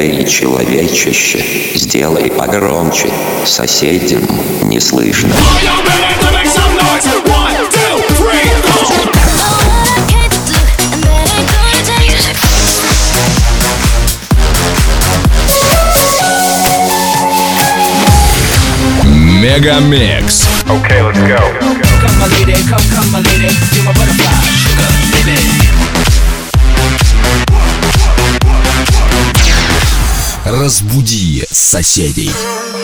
Эй, человечище, сделай погромче, соседям не слышно. Мегамикс. Okay, let's go. Come my lady, come my lady, you're my butterfly, sugar, baby. Разбуди соседей.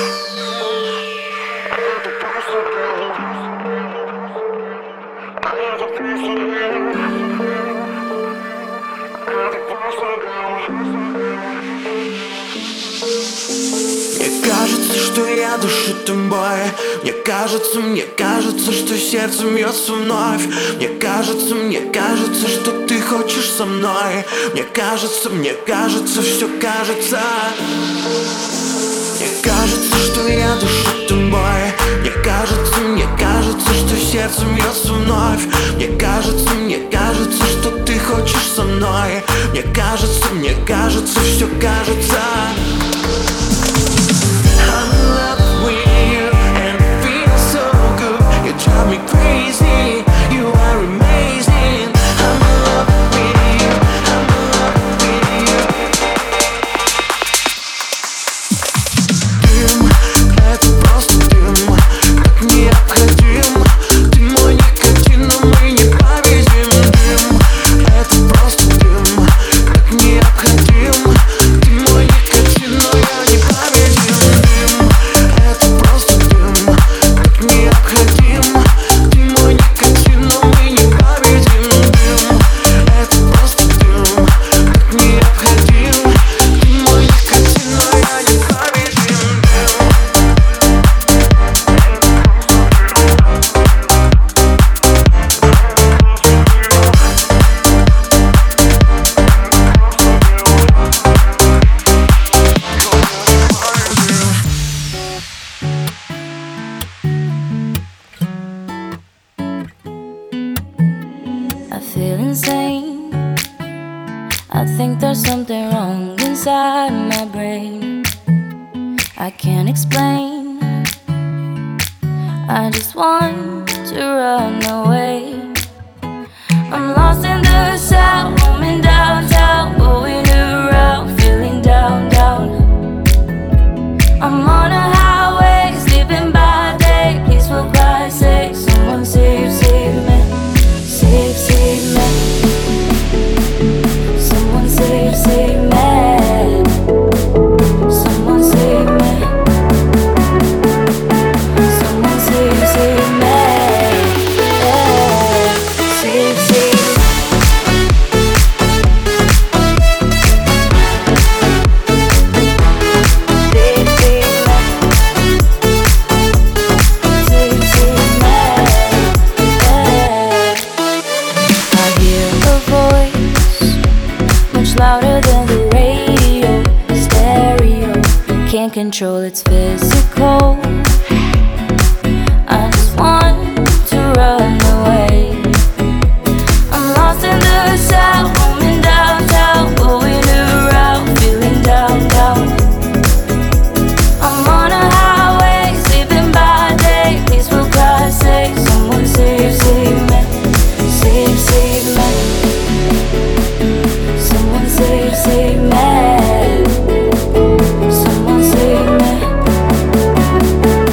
Мне кажется, что я дышу тобой. Мне кажется, что сердце бьется вновь. Мне кажется, что ты хочешь со мной. Мне кажется, все кажется. Мне кажется, что я дышу тобой. Мне кажется, что сердце бьется вновь. Мне кажется, что ты хочешь со мной. Мне кажется, все кажется. I'm in love with you and it feels so good. You drive me crazy, you are amazing. I'm in love with you, I'm in love with you. Дым, это просто дым, так необходим. Ты мой никотин, но мы не победим. Дым, это просто дым, так необходим. Ты мой никотин, но я не победим. Дым, это просто дым, так необходим. Ты мой никотин, но мы не победим. Дым, это просто дым, так необходим. Ты мой никотин, но я не победим. I feel insane. I think there's something wrong inside my brain. I can't explain. I just want to run away. I'm lost in the sound, roaming downtown, going around, feeling down, down. I'm on a highway, sleeping by day. Please, for Christ's sake, someone save, save me. Save, save me. Someone save, save me. Someone save me. Someone save, save me. Yeah. Save, save me. Save, save me. Save, save me. Yeah. I hear a voice much louder than the radio, stereo. Can't control its physical. I just want to run away. I'm lost in the sound, roaming downtown, going around, feeling down, down. I'm on a highway, sleeping by day. Please, for Christ's sake, someone save, save me. Save, save me. Someone save, save me. Someone save me.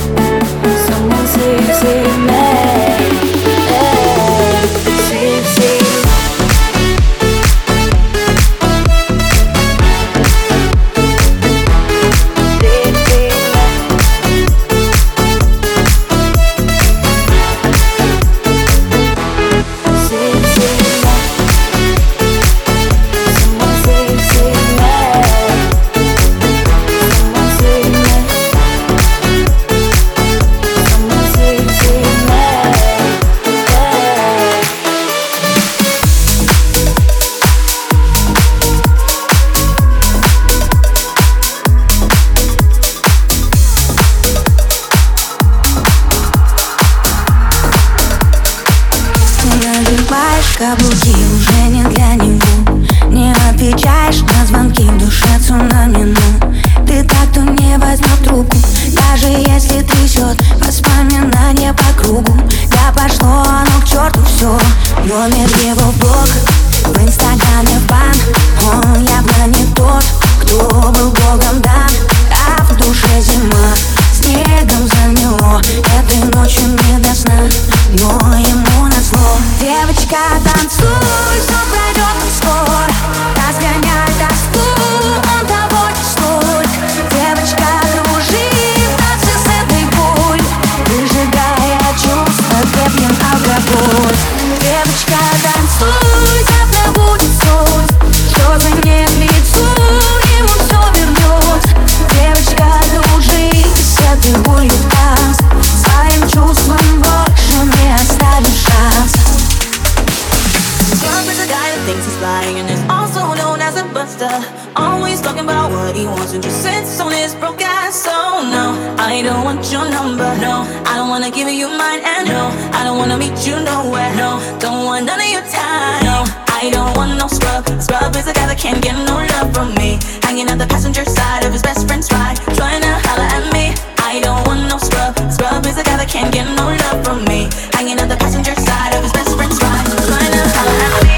почему ты так, кто не возьмет трубку, даже если трясет воспоминания по кругу. Да пошло оно к черту все, номер его в блог, в инстаграме в бан. Он явно не тот, кто был богом дан, а в душе зима снегом замело. Этой ночью не до сна, но ему назло. Девочка, танцуй, все пройдет скоро, разгоняй тоску, он того не стоит. Девочка, дружи, в танце с этой болью, выжигая чувства крепким алкоголь. Девочка, танцуй, завтра будет солнце, что за не к лицу, ему все вернется. Девочка, дружи, с этой болью в танце, своим чувством больше не оставишь шанс. Love is a guy that thinks he's flying and is also known as a buster. Always talking about what he wants and just sits on his broke ass. So no, I don't want your number. No, I don't wanna give you mine. And no, I don't wanna meet you nowhere. No, don't want none of your time. No, I don't want no scrub. Scrub is a guy that can't get no love from me. Hanging at the passenger side of his best friend's ride, trying to holler at me. I don't want no scrub. Scrub is a guy that can't get no love from me. Hanging at the passenger side of his best friend's ride, trying to holler at me.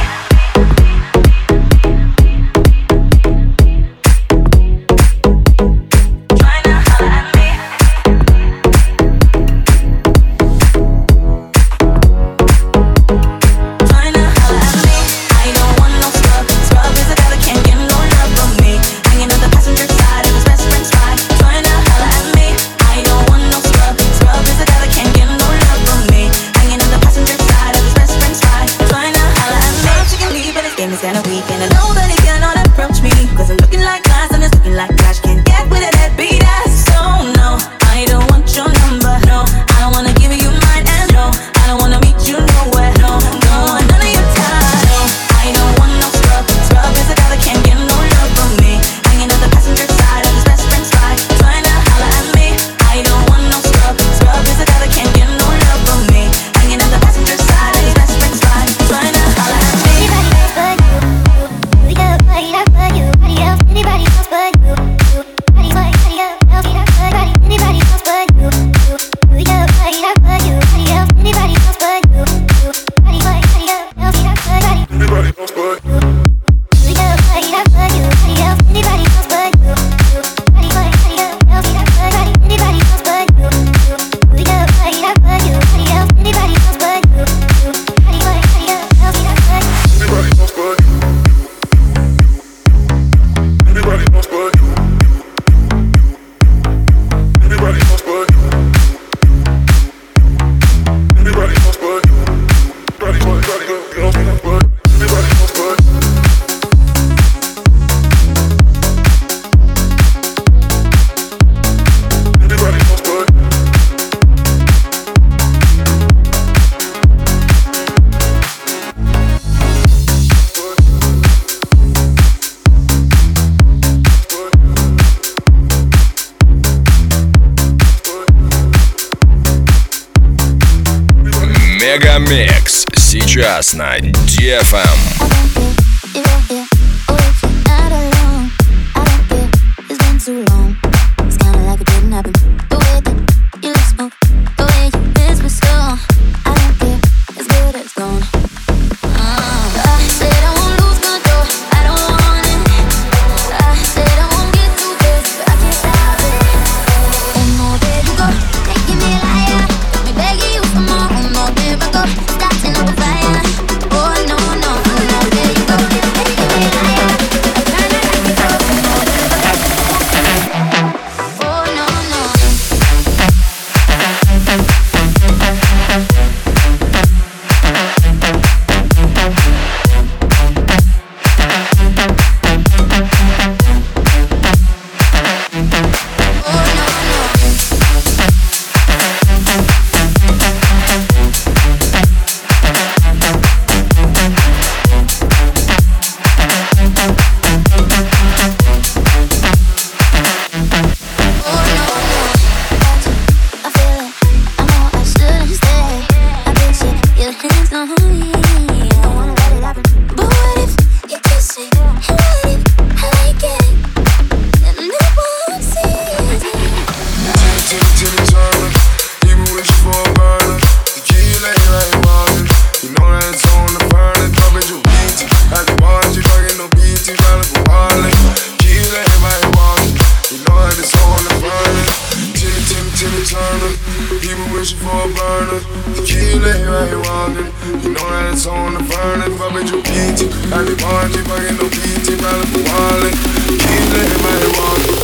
Мегамикс сейчас на DFM. wishing for a burner. The key lay right here walking. You know that it's on the furnace. But bitch, you beat it. I be party, fucking no PT, probably for wallet. Key lay right here walking.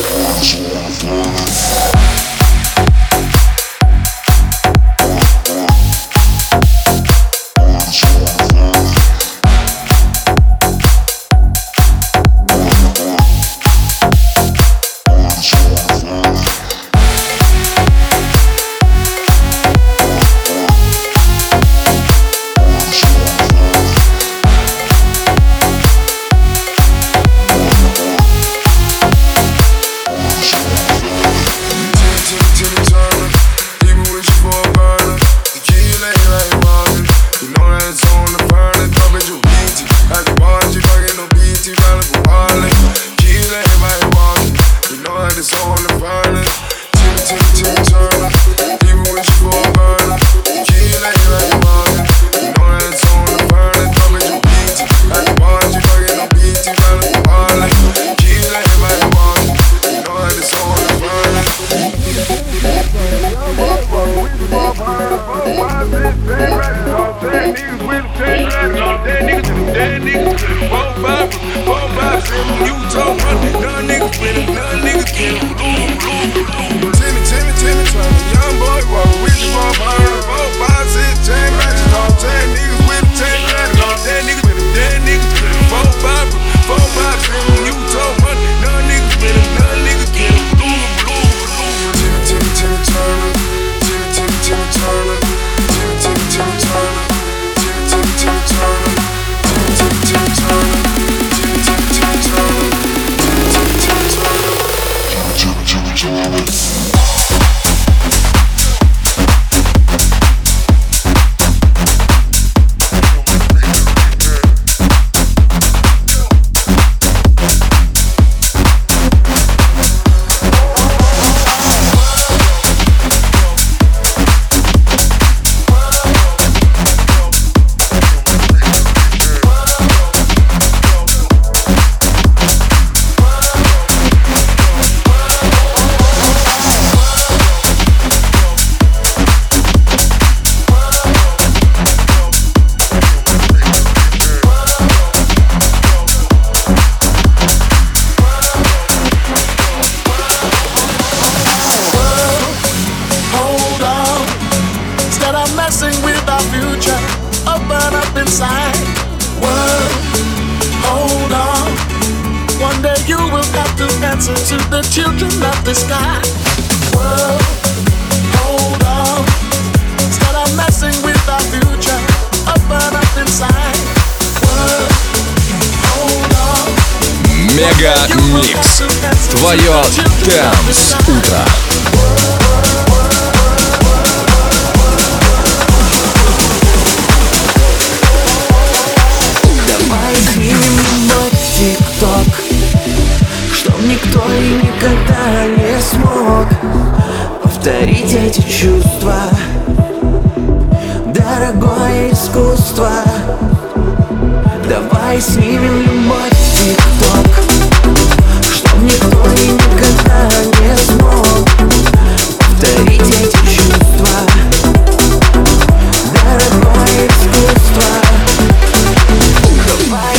Мегамикс. Твое Dance утро. Давай снимем мой тик-ток, чтоб никто и никогда не смог повторить эти чувства. Дорогое искусство. Давай снимем любовь в тик-ток, чтоб никто и никогда не смог повторить эти чувства. Дорогое искусство. Давай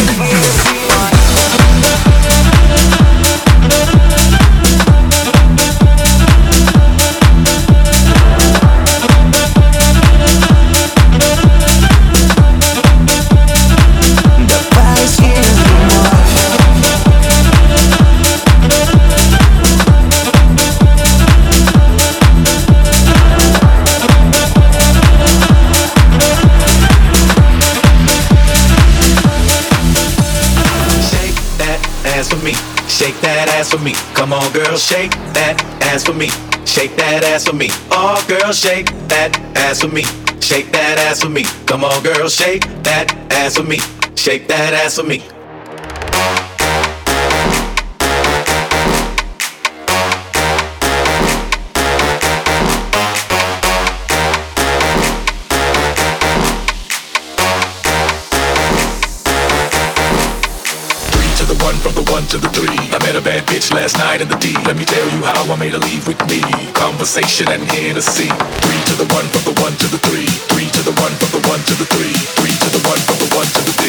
Shake that ass for me. Come on, girl, shake that ass for me. Shake that ass for me. Oh, girl, shake that ass for me. Shake that ass for me. Come on, girl, shake that ass for me. Shake that ass for me. From the one to the three, I met a band bad bitch last night in the D. Let me tell you how I made her leave with me. Conversation and Hennessy. 3 to the 1 from the 1 to the 3. 3 to the 1 from the 1 to the 3. 3 to the 1 from the 1 to the D.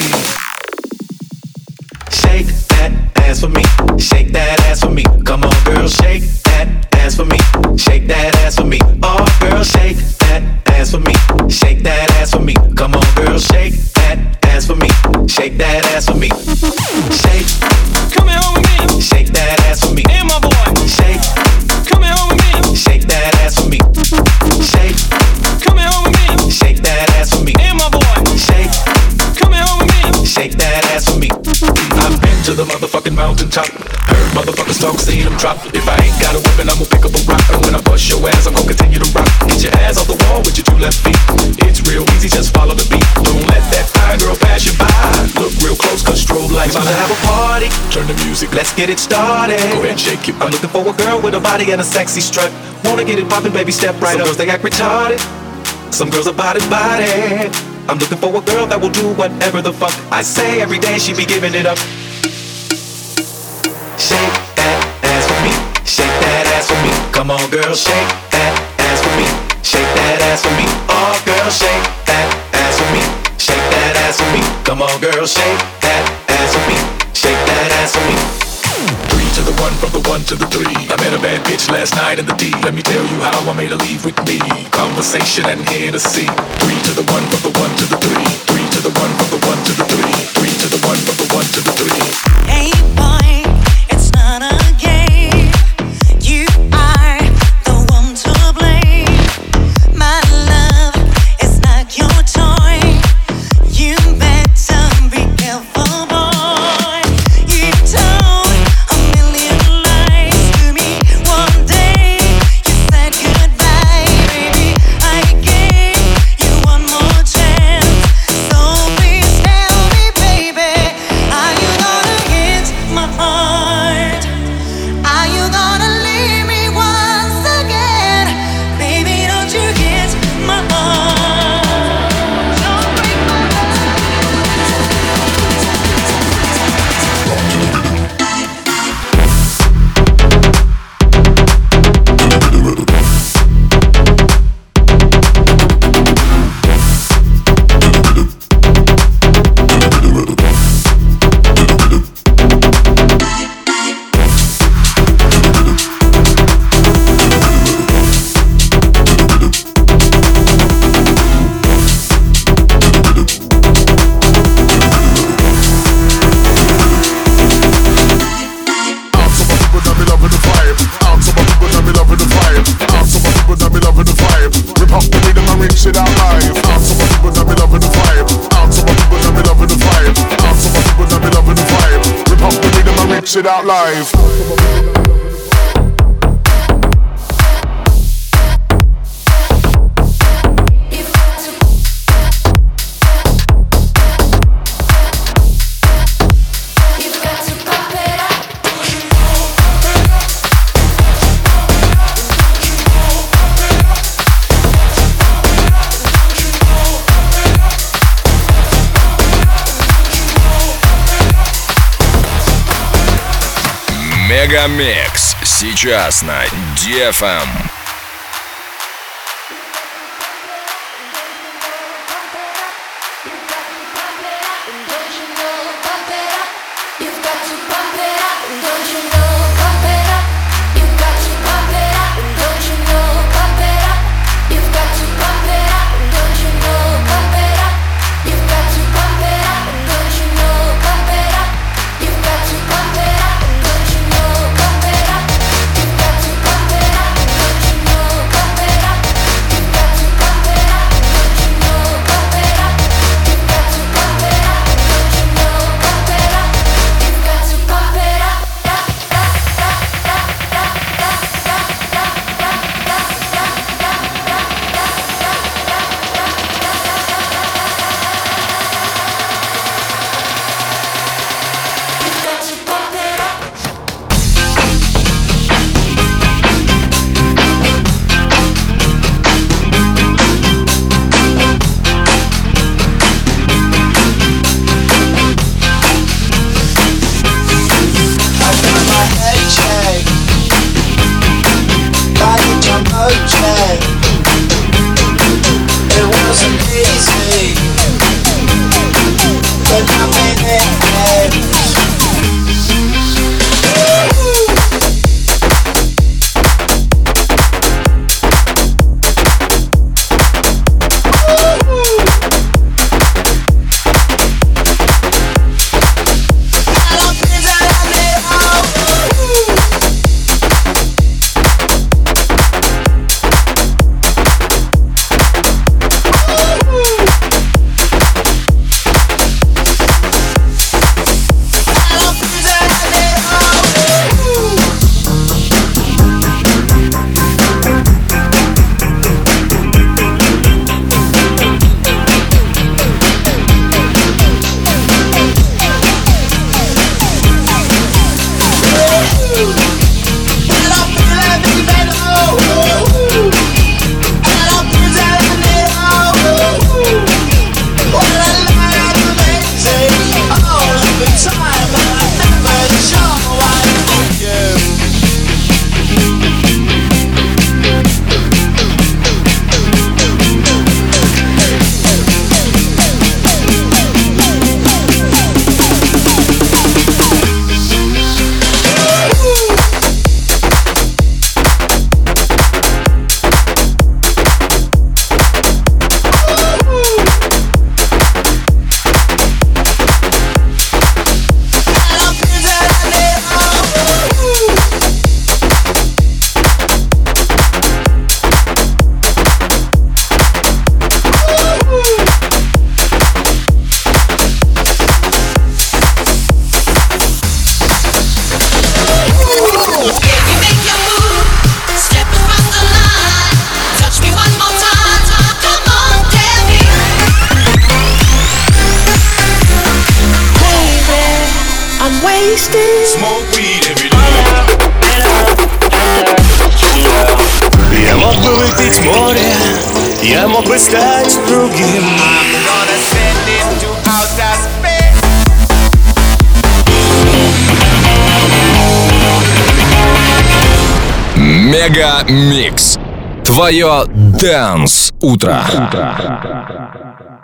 Shake that ass for me. Shake that ass for me. Come on, girl, shake that ass for me. Shake that ass for me. Oh, girl, shake that ass for me. Shake that ass for me. Come on, girl, shake that ass for me. Shake that ass for me. Shake. Come here with me. Shake that ass for me. And my boy. Shake. Come here with me. Shake that ass for me. Shake. Come here with me. Shake that ass for me. And my boy. Shake. Come here with me. Shake that ass for me. I've been to the motherfucking mountaintop. Heard motherfuckers talk, seen them drop. If I ain't got a weapon, I'ma pick up a rock. And when I bust your ass, I'm gonna continue to rock. Get your ass off the wall with your 2 left feet. It's real easy, just follow the beat. Don't let that fine girl pass you by. Look real close, cause strobe lights on. Have a party, turn the music, let's get it started. Go ahead and shake it. I'm looking for a girl with a body and a sexy strut. Wanna get it poppin', baby, step right up. Some girls, they act retarded. Some girls are body. I'm looking for a girl that will do whatever the fuck I say. Every day she be giving it up. Shake that ass for me. Shake that ass for me. Come on, girl, shake that ass for me. Shake that ass for me. Oh, girl, shake that ass for me. Shake that ass for me. Come on, girl, shake that ass for me. Shake that ass for me. 3 to the 1 from the 1 to the 3. I met a bad bitch last night in the D. Let me tell you how I made her leave with me. Conversation and Hennessy. 3 to the 1 from the 1 to the 3. 3 to the 1 from the 1 to the 3. 3 to the 1 from the 1 to the 3. Hey boy, it's not a game. You are the one to blame. My love is not your toy. You better be careful, boy. You told a million lies to me. One day you said goodbye, baby. I gave you one more chance. So please tell me, baby, are you gonna hit my heart? Are you gonna leave me once again? Baby, don't you hit my heart. Don't break my It out live. Мегамикс сейчас на DFM. Don't you know wasted. Smoke weed every day. Я мог бы выпить море, я мог бы стать другим. I'm gonna send it to outer space. Мега Микс. Твое Dance утро.